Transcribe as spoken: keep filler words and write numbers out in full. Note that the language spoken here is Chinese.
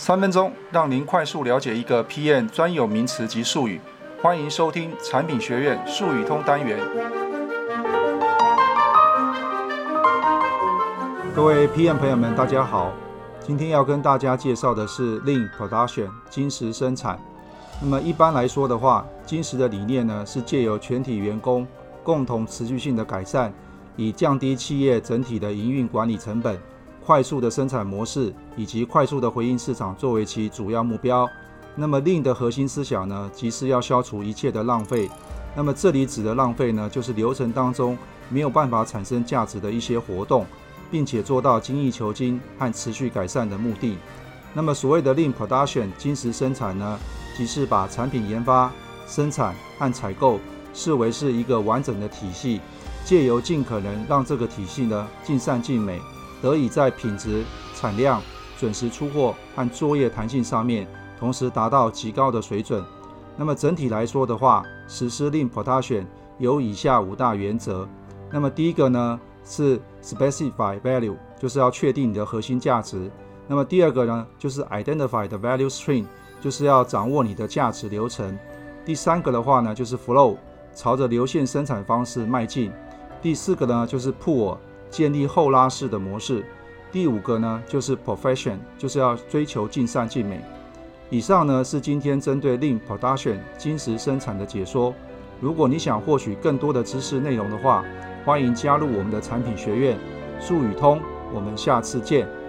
三分鐘讓您快速了解一個 P M 專有名詞及術語。歡迎收聽產品學院術語通單元。各位 P M 朋友們，大家好。今天要跟大家介紹的是 Lean Production 精實生產。那麼一般來說的話，精實的理念呢是借由全體員工共同持續性的改善，以降低企業整體的營運管理成本、快速的生產模式以及快速的回應市場作為其主要目標。那麼 Lean 的核心思想呢，即是要消除一切的浪費。那麼這裡指的浪費呢，就是流程當中沒有辦法產生價值的一些活動，並且做到精益求精和持續改善的目的。那麼所謂的 Lean Production 精實生產呢，即是把產品研發、生產和採購視為是一個完整的體系，借由盡可能讓這個體系呢盡善盡美，得以在品質、產量、準時出貨和作業彈性上面同時達到極高的水準。那麼整體來說的話，實施 Lean Production 有以下五大原則。那麼第一個呢是 Specify Value， 就是要確定你的核心價值。那麼第二個呢就是 Identify the Value Stream， 就是要掌握你的價值流程。第三個的話呢就是 Flow， 朝着流線生產方式邁進。第四個呢就是 Pull， 建立後拉式的模式。第五個呢就是 Perfection， 就是要追求盡善盡美。以上呢是今天針對 Lean Production 精實生產的解說。如果你想獲取更多的知識內容的話，歡迎加入我們的產品學院術語通。我們下次見。